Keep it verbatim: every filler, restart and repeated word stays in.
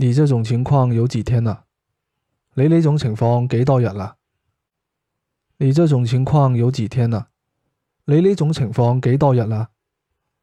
你這種情況有幾天啦？你呢種情況幾多日啦？你這種情況有幾天啦？你呢種情況幾多日啦？